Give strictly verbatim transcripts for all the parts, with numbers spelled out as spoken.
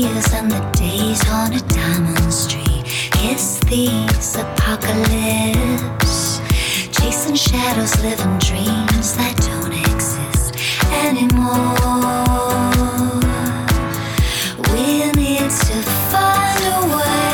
years and the days on a diamond street. Kiss these apocalypse, chasing shadows, living dreams that don't exist anymore. We need to find a way.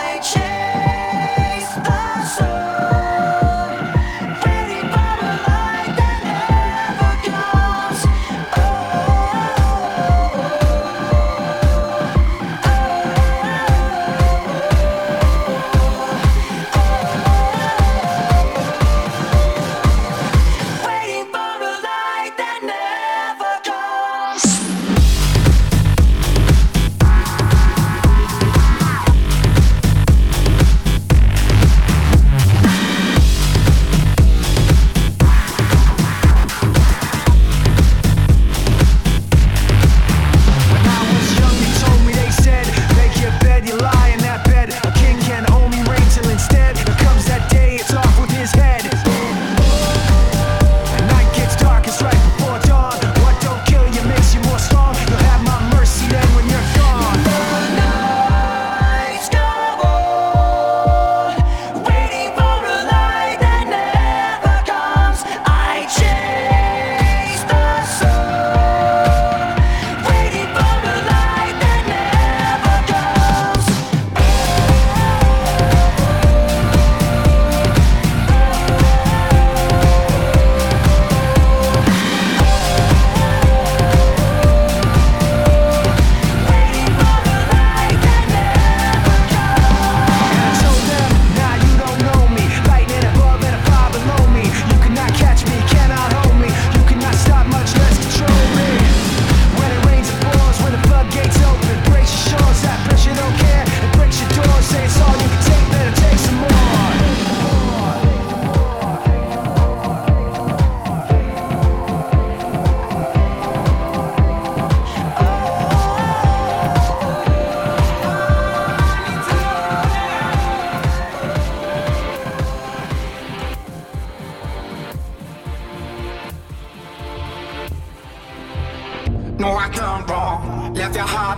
Chase the sun, ready for a life.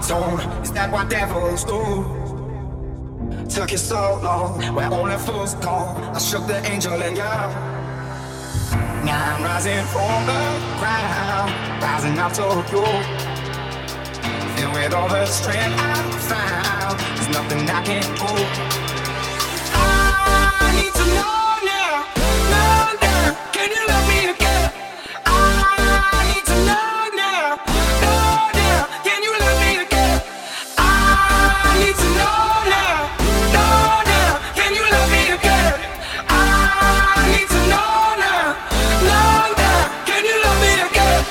zone. Is that what devils do? Took you so long, where only fools go. I shook the angel in you. Now I'm rising from the ground, rising up to you. Filled with all the strength I found, there's nothing I can't do. I need to know now, know now, can you love me again? I need to know now, know now, can you love me again? I need to know now, know now, can you love me again? I need to know now, know now, can you love me again?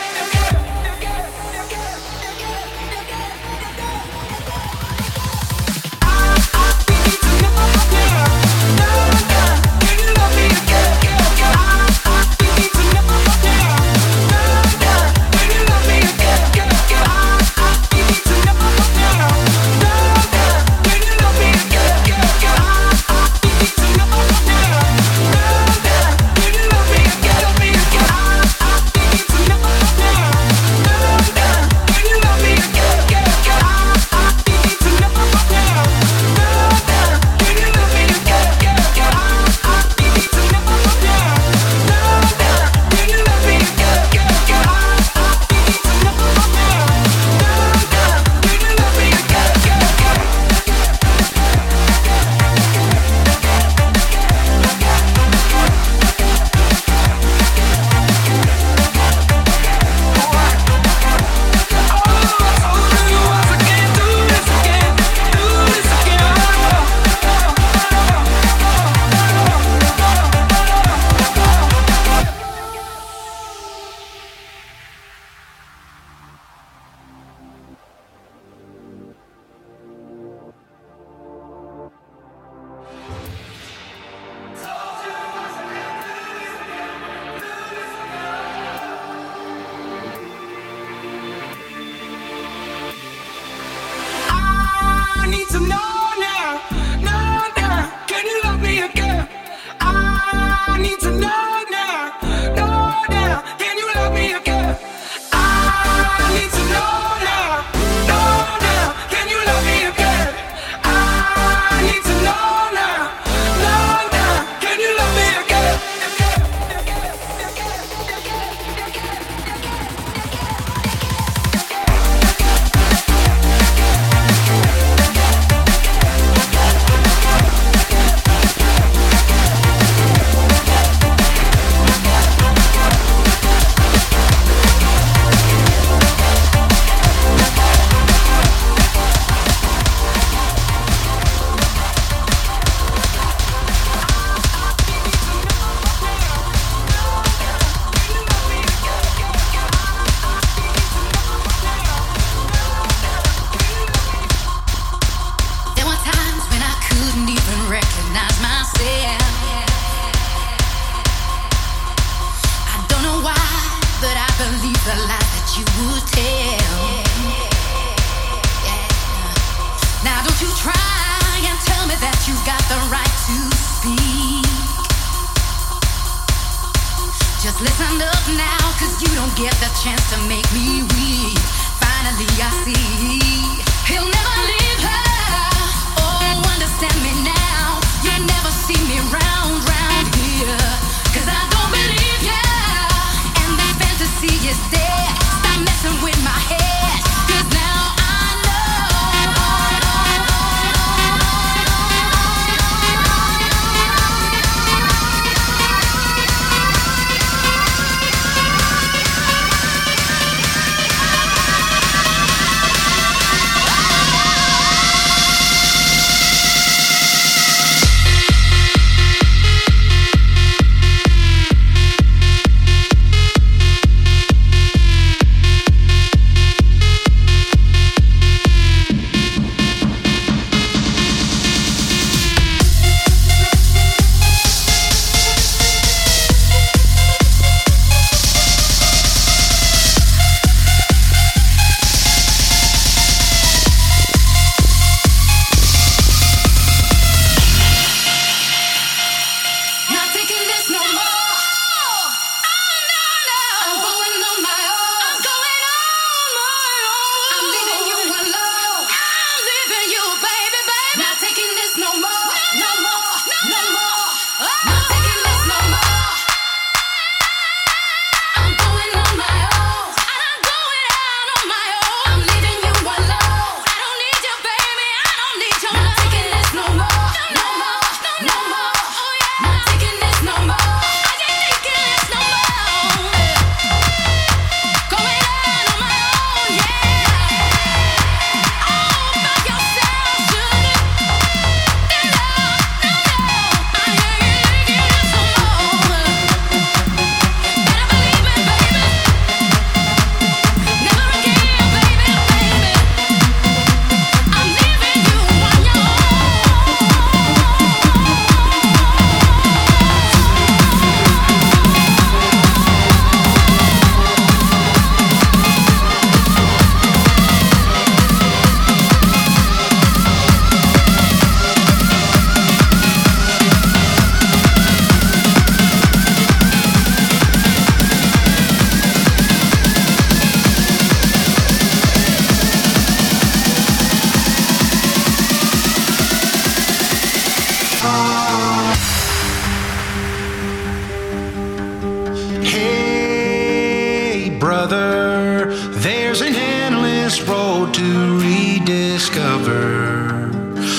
rediscover.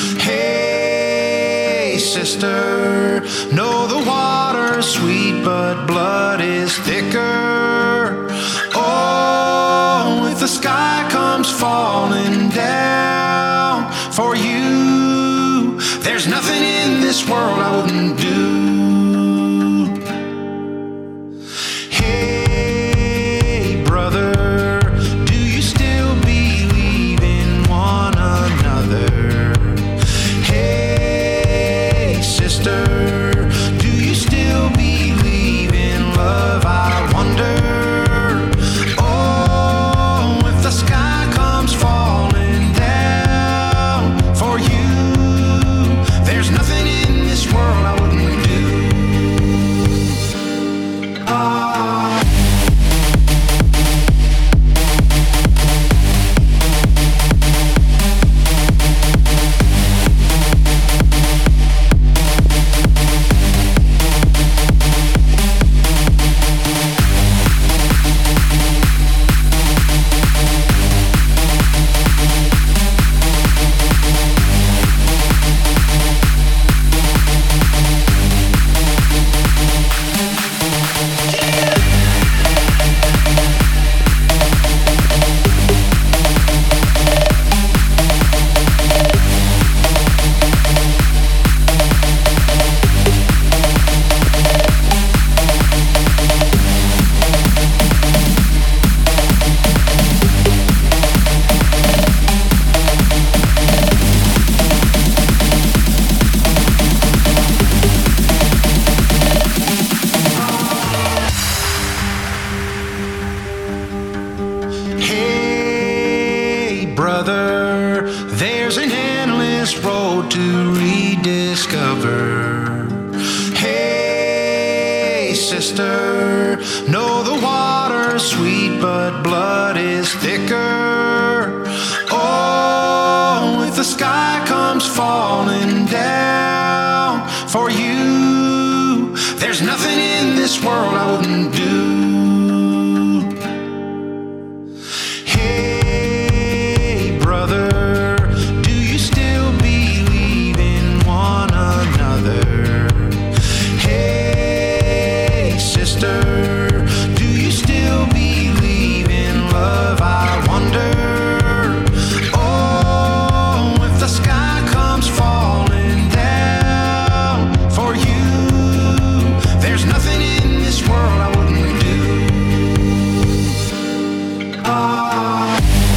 Hey, sister, know the water's sweet, but blood is thicker. Oh, if the sky comes falling down for you, there's nothing in this world I wouldn't do. Hey, brother, do you still believe in one another? Hey, sister, do you still believe in love? I wonder. Oh, if the sky comes falling down for you, there's nothing in this world I wouldn't do. Ah. Hey, brother, there's an endless road to rediscover. Hey, sister, know the water's sweet, but blood is thicker. Oh, if the sky comes falling down for you, there's nothing in this world I wouldn't do. Hey, brother, do you still believe in one another? Hey, sister, do you still believe in love? I wonder. Oh, if the sky comes falling down for you, there's nothing in this world I wouldn't do. Ah.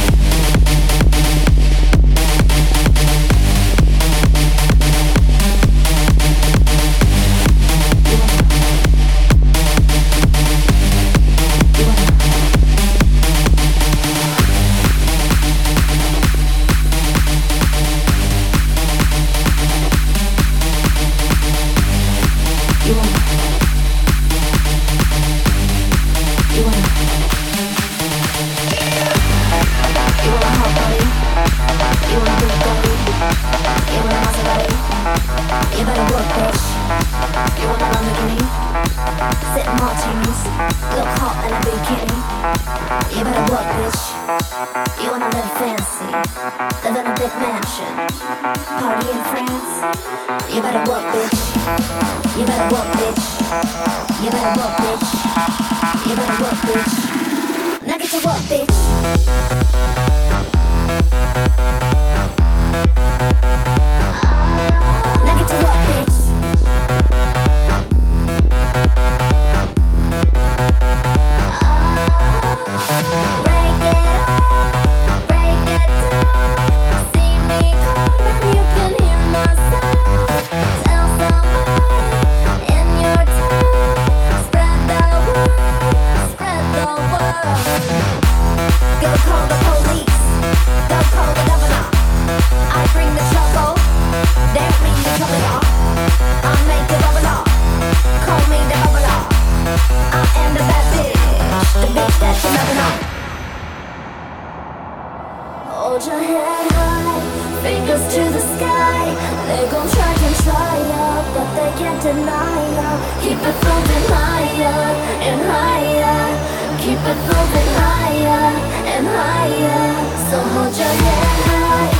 Hold your head high, fingers to the sky. They gon' try and try ya, but they can't deny ya. Keep it moving higher and higher. Keep it moving higher and higher. So hold your head high,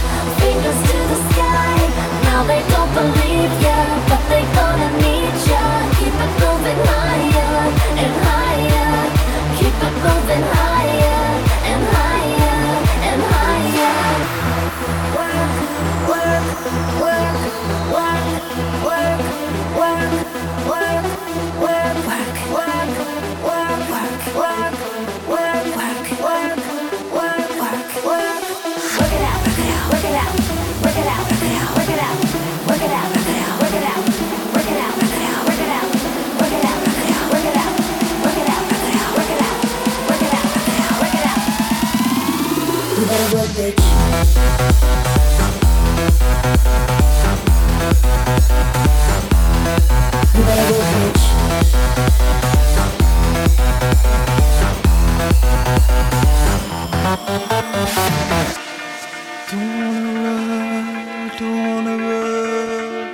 Don't wanna run, don't wanna run.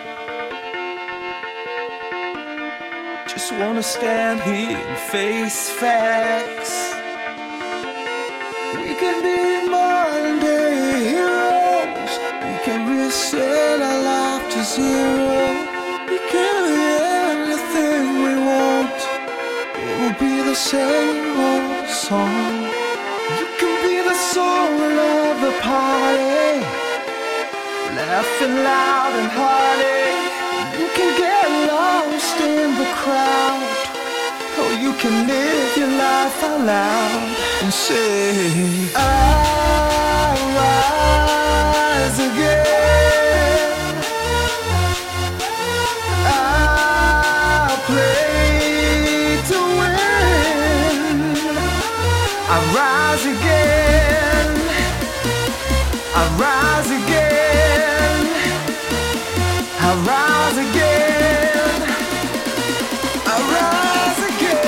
Just wanna stand here and face facts. We can be Monday heroes. We can reset our life to zero. We can be anything we want. It will be the same old song. You can be the soul of the party, laughing loud and hearty. You can get lost in the crowd, or you can live your life out loud and say, I rise again, I play to win, I rise again, I rise again, I rise again, I rise again.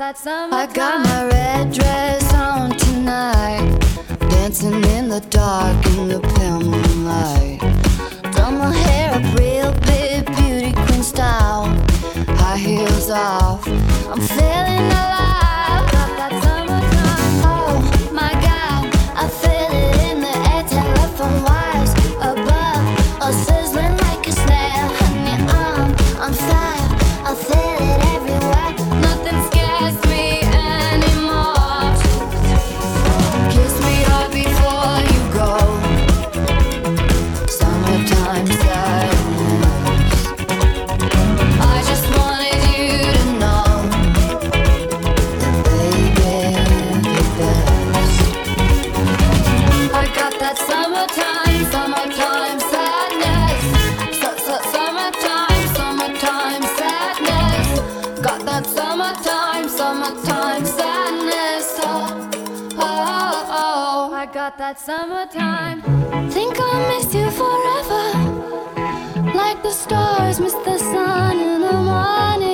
that summer. I got my red dress on tonight, dancing in the dark in the pale moonlight. Done my hair up real big, beauty queen style, high heels off, I'm feeling alive. Got that summertime. Oh my God, I feel it in the air, telephone wires above, all sizzling like a snare. Honey, I'm on fire, I feel it everywhere. Nothing scares me anymore. Kiss me hard before you go. Summertime sadness. I just wanted you to know that baby, the best. I got that summertime, summertime sadness. Su- su- summertime, summertime sadness. Got that summertime, summertime sadness. Oh, oh, oh, I got that summertime. Think I'll miss you forever, like the stars miss the sun in the morning.